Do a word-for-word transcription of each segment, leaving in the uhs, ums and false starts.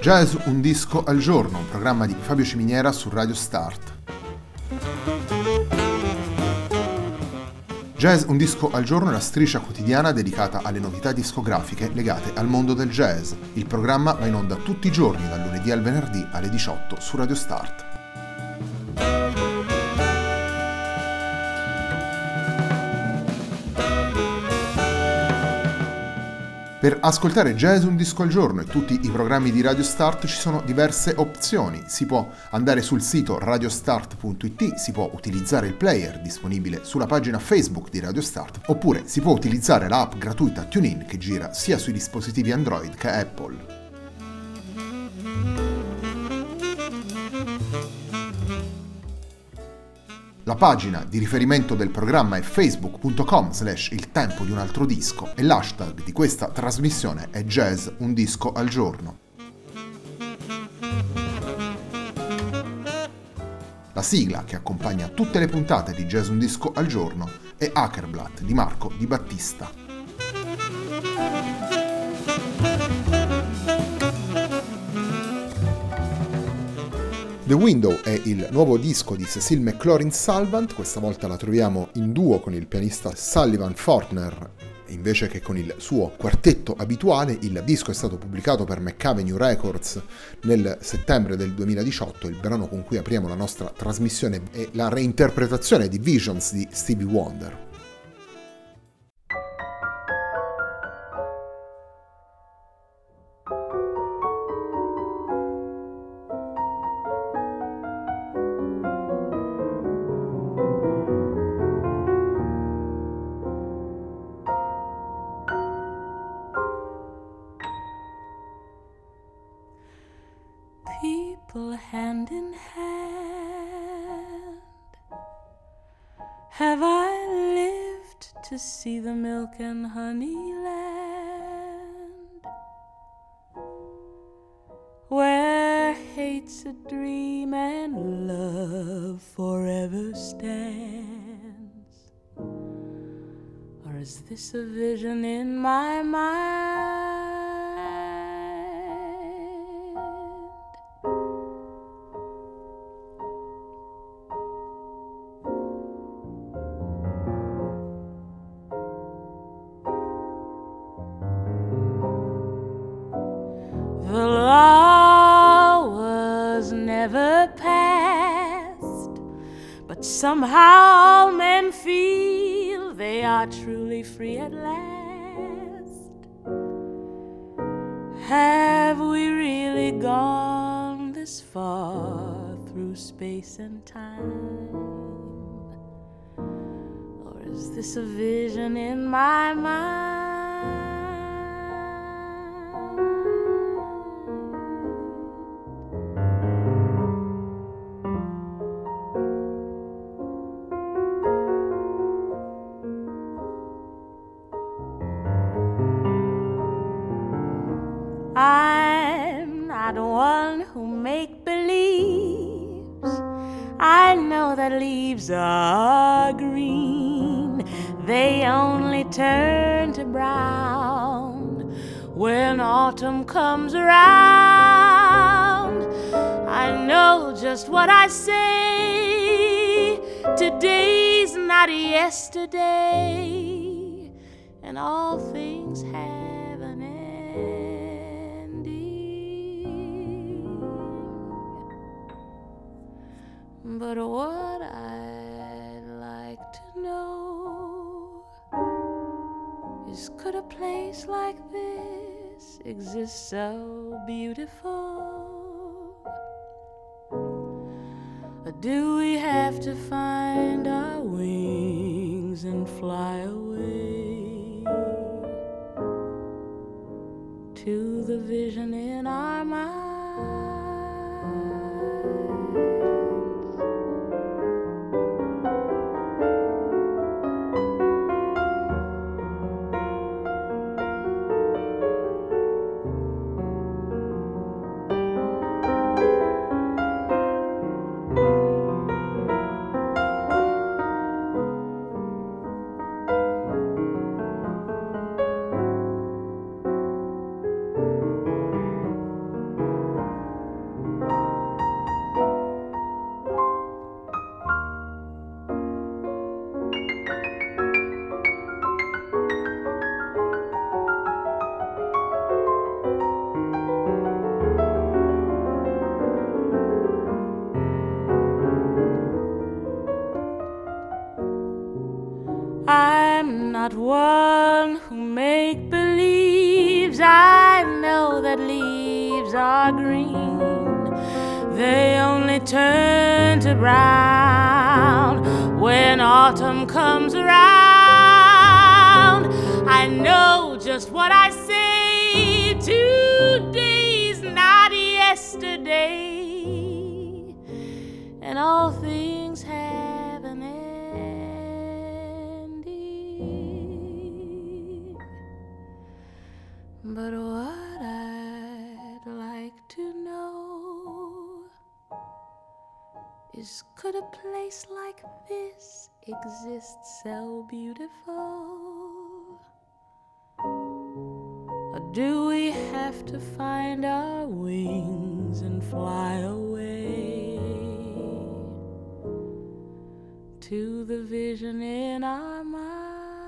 Jazz un disco al giorno, un programma di Fabio Ciminiera su Radio Start. Jazz un disco al giorno è la striscia quotidiana dedicata alle novità discografiche legate al mondo del jazz. Il programma va in onda tutti i giorni, dal lunedì al venerdì alle diciotto su Radio Start. Per ascoltare Jazz un disco al giorno e tutti i programmi di Radio Start ci sono diverse opzioni. Si può andare sul sito radiostart punto it, si può utilizzare il player disponibile sulla pagina Facebook di Radio Start, oppure si può utilizzare l'app gratuita TuneIn che gira sia sui dispositivi Android che Apple. La pagina di riferimento del programma è facebook punto com slash il tempo di un altro disco e l'hashtag di questa trasmissione è Jazz un disco al giorno. La sigla che accompagna tutte le puntate di Jazz un disco al giorno è Ackerblatt di Marco Di Battista. The Window è il nuovo disco di Cecile McLaurin-Salvant, questa volta la troviamo in duo con il pianista Sullivan Fortner invece che con il suo quartetto abituale. Il disco è stato pubblicato per McAvenue Records nel settembre del duemiladiciotto. Il brano con cui apriamo la nostra trasmissione è la reinterpretazione di Visions di Stevie Wonder. People hand in hand, have I lived to see the milk and honey land, where hate's a dream and love forever stands? Or is this a vision in my mind? The law was never passed, but somehow men feel they are truly free at last. Have we really gone this far through space and time? Or is this a vision in my mind? I'm not one who make believes. I know that leaves are green. They only turn to brown when autumn comes around. I know just what I say. Today's not yesterday, and all things have an end. But what I'd like to know is, could a place like this exist so beautiful? Or do we have to find our wings and fly away to the vision in our minds? not one who make believes. I know that leaves are green. They only turn to brown when autumn comes around. I know just what I say. Today's not yesterday, and all things have an ending. But what I'd like to know is, could a place like this exist so beautiful? Or do we have to find our wings and fly away to the vision in our minds?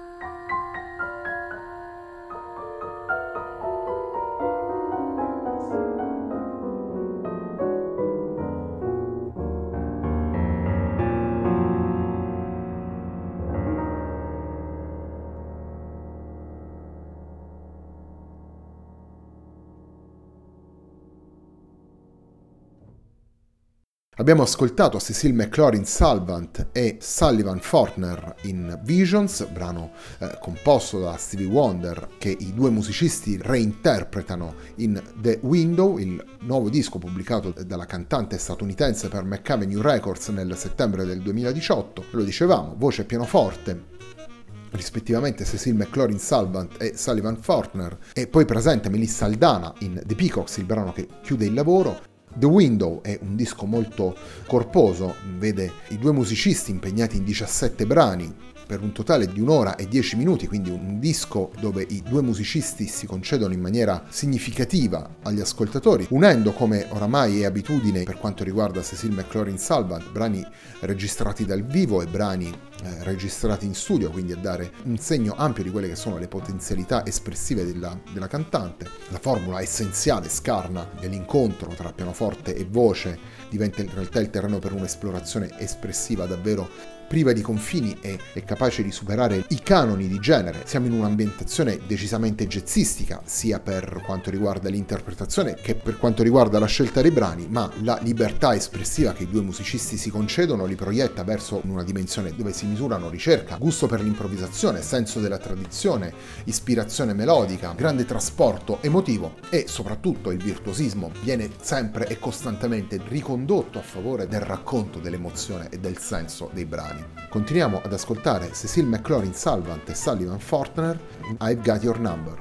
Abbiamo ascoltato Cecil McLaurin Salvant e Sullivan Fortner in Visions, brano eh, composto da Stevie Wonder, che i due musicisti reinterpretano in The Window, il nuovo disco pubblicato dalla cantante statunitense per McAvenue Records nel settembre del duemiladiciotto. Lo dicevamo, voce e pianoforte, rispettivamente Cecil McLaurin Salvant e Sullivan Fortner, e poi presente Melissa Aldana in The Peacocks, il brano che chiude il lavoro. The Window è un disco molto corposo, vede i due musicisti impegnati in diciassette brani per un totale di un'ora e dieci minuti, quindi un disco dove i due musicisti si concedono in maniera significativa agli ascoltatori, unendo, come oramai è abitudine per quanto riguarda Cecil McLaurin Salvant, brani registrati dal vivo e brani eh, registrati in studio, quindi a dare un segno ampio di quelle che sono le potenzialità espressive della, della cantante. La formula essenziale, scarna, dell'incontro tra pianoforte e voce diventa in realtà il terreno per un'esplorazione espressiva davvero priva di confini e è capace di superare i canoni di genere. Siamo in un'ambientazione decisamente jazzistica, sia per quanto riguarda l'interpretazione che per quanto riguarda la scelta dei brani, ma la libertà espressiva che i due musicisti si concedono li proietta verso una dimensione dove si misurano ricerca, gusto per l'improvvisazione, senso della tradizione, ispirazione melodica, grande trasporto emotivo e soprattutto il virtuosismo viene sempre e costantemente ricondotto a favore del racconto dell'emozione e del senso dei brani. Continuiamo ad ascoltare Cecil McLaurin Salvant e Sullivan Fortner in I've Got Your Number.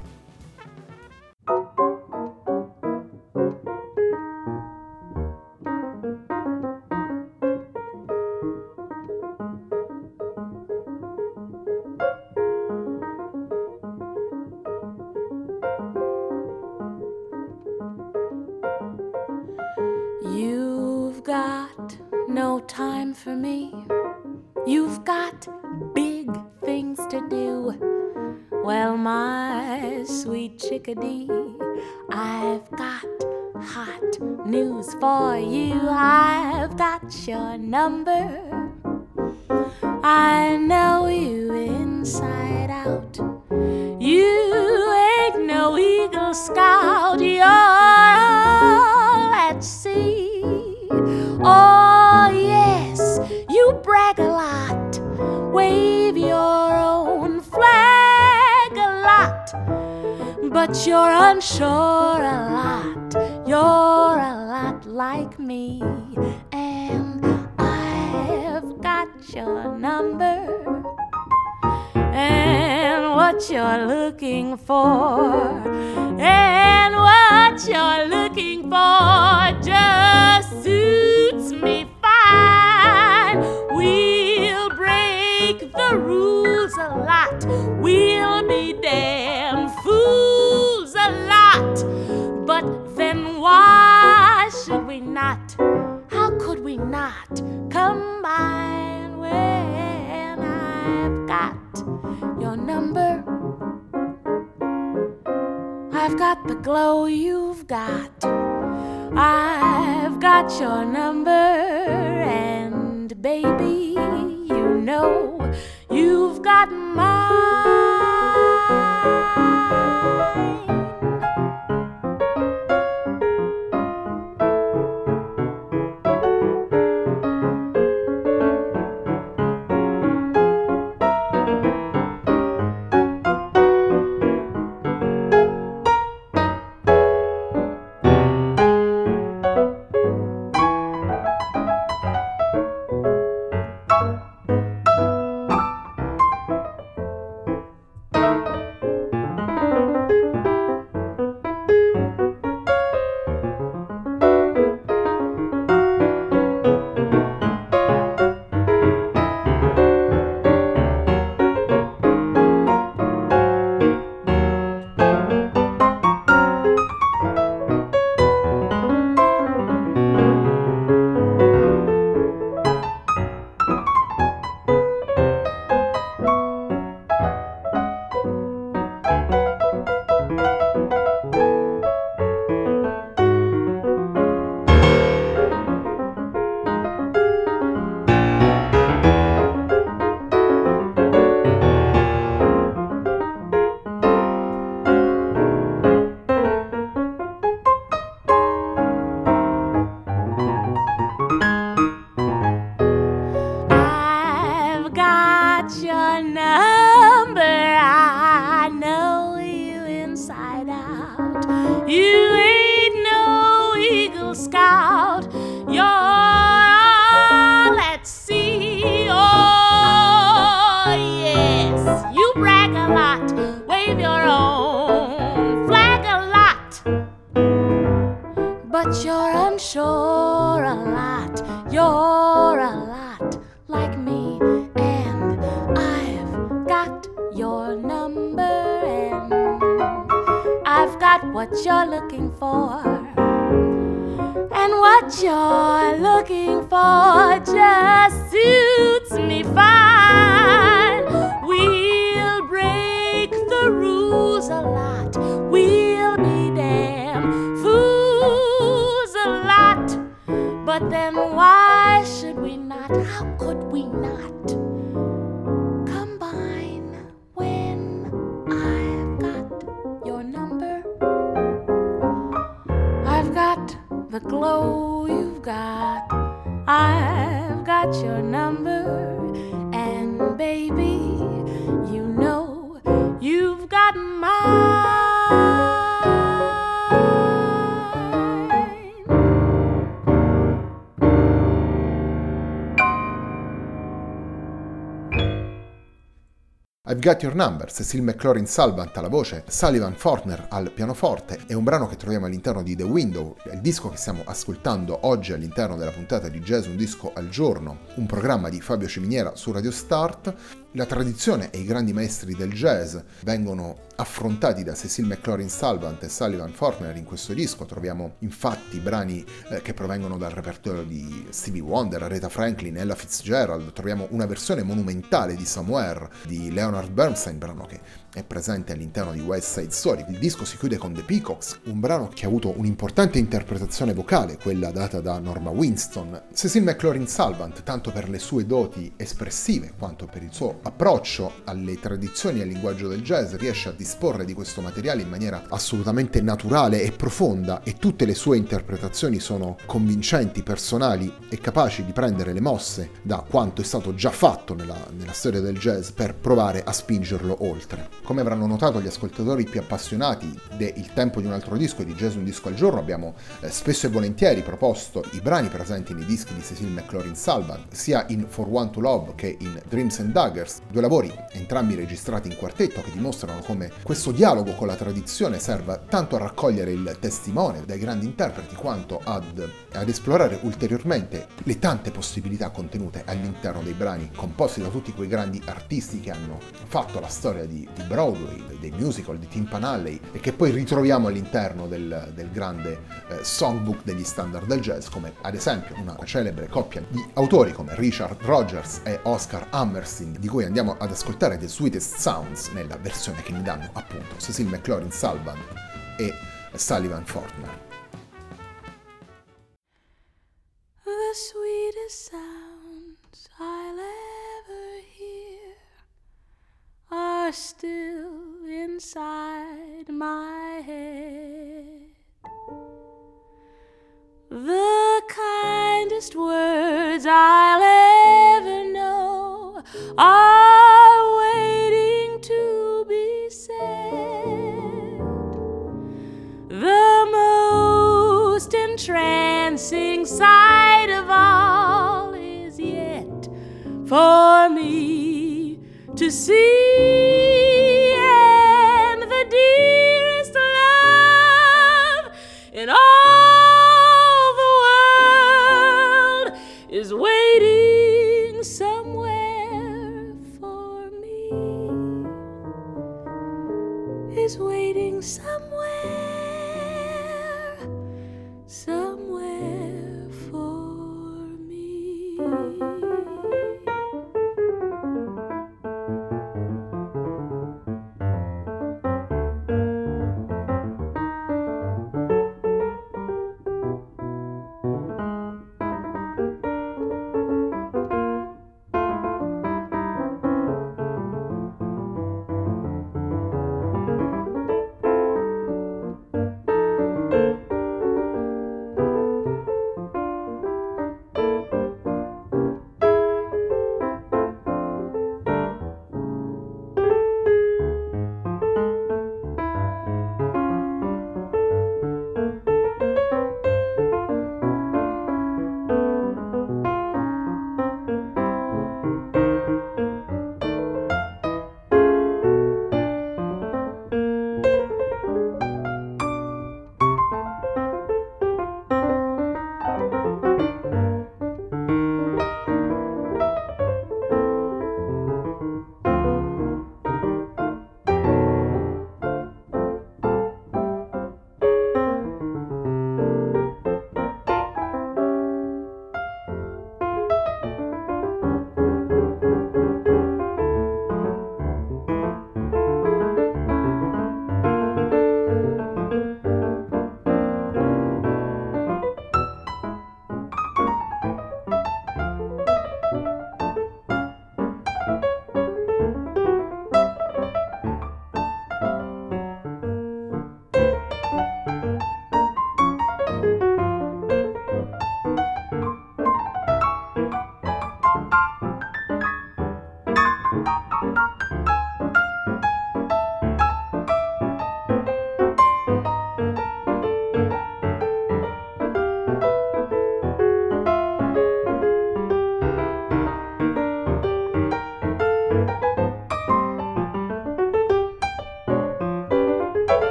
You've got no time for me. You've got big things to do. Well, my sweet chickadee, I've got hot news for you. I've got your number. I know you inside out. You ain't no Eagle Scout. You're all at sea. Oh, yes, you brag a lot, wave your own flag a lot, but you're unsure a lot, you're a lot like me, and I've got your number, and what you're looking for, and what you're looking for just suits me fine. We'll break the rules a lot. We'll be damn fools a lot. But then why should we not? How could we not combine when I've got your number? I've got the glow you've got. I've got your number, and baby, you know you've got mine. but you're unsure a lot. You're a lot like me, and I've got your number, and I've got what you're looking for. And what you're looking for just suits me fine. We'll break the rules a lot. We'll be damn fools a lot. But then why should we not? How could we not combine when I've got your number? I've got the glow you've got. I've got your number. And baby, you know you've got mine. I've Got Your Number, Cecil McLaurin Salvant alla voce, Sullivan Fortner al pianoforte, è un brano che troviamo all'interno di The Window, il disco che stiamo ascoltando oggi all'interno della puntata di Jazz Un Disco al Giorno, un programma di Fabio Ciminiera su Radio Start. La tradizione e i grandi maestri del jazz vengono affrontati da Cecil McLaurin Salvant e Sullivan Fortner in questo disco. Troviamo infatti brani eh, che provengono dal repertorio di Stevie Wonder, Aretha Franklin, Ella Fitzgerald. Troviamo una versione monumentale di Somewhere di Leonard Bernstein, brano che è presente all'interno di West Side Story. Il disco si chiude con The Peacocks, un brano che ha avuto un'importante interpretazione vocale, quella data da Norma Winston. Cecil McLaurin Salvant, tanto per le sue doti espressive quanto per il suo approccio alle tradizioni e al linguaggio del jazz, riesce a disporre di questo materiale in maniera assolutamente naturale e profonda, e tutte le sue interpretazioni sono convincenti, personali e capaci di prendere le mosse da quanto è stato già fatto nella, nella storia del jazz per provare a spingerlo oltre. Come avranno notato gli ascoltatori più appassionati de Il tempo di un altro disco e di Jazz Un Disco al Giorno, abbiamo eh, spesso e volentieri proposto i brani presenti nei dischi di Cecil McLaurin Salvant, sia in For One to Love che in Dreams and Daggers, due lavori entrambi registrati in quartetto che dimostrano come questo dialogo con la tradizione serva tanto a raccogliere il testimone dai grandi interpreti quanto ad, ad esplorare ulteriormente le tante possibilità contenute all'interno dei brani composti da tutti quei grandi artisti che hanno fatto la storia di, di Broadway, dei musical, di Tim Panalley, e che poi ritroviamo all'interno del, del grande eh, songbook degli standard del jazz, come ad esempio una celebre coppia di autori come Richard Rodgers e Oscar Hammerstein, di cui andiamo ad ascoltare The Sweetest Sounds nella versione che mi danno appunto Cecil McLaurin Salvant e Sullivan Fortner. The sweetest sounds I'll ever hear are still inside my head. The kindest words I'll ever know are waiting to be said. The most entrancing sight of all is yet for me to see, and the dearest love in all the world is waiting somewhere for me, is waiting somewhere, somewhere for me.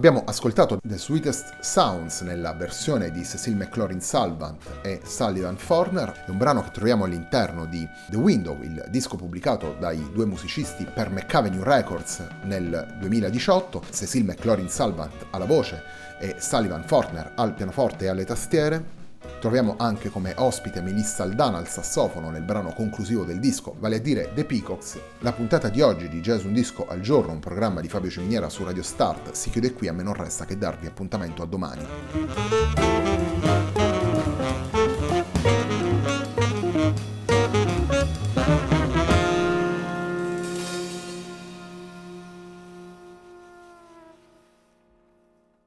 Abbiamo ascoltato The Sweetest Sounds nella versione di Cecil McLaurin-Salvant e Sullivan Forner, è un brano che troviamo all'interno di The Window, il disco pubblicato dai due musicisti per McAvenue Records nel duemiladiciotto, Cecil McLaurin-Salvant alla voce e Sullivan Forner al pianoforte e alle tastiere. Troviamo anche come ospite Melissa Aldana al sassofono nel brano conclusivo del disco, vale a dire The Peacocks. La puntata di oggi di Jazz Un Disco al Giorno, un programma di Fabio Ciminiera su Radio Start, si chiude qui, a me non resta che darvi appuntamento a domani.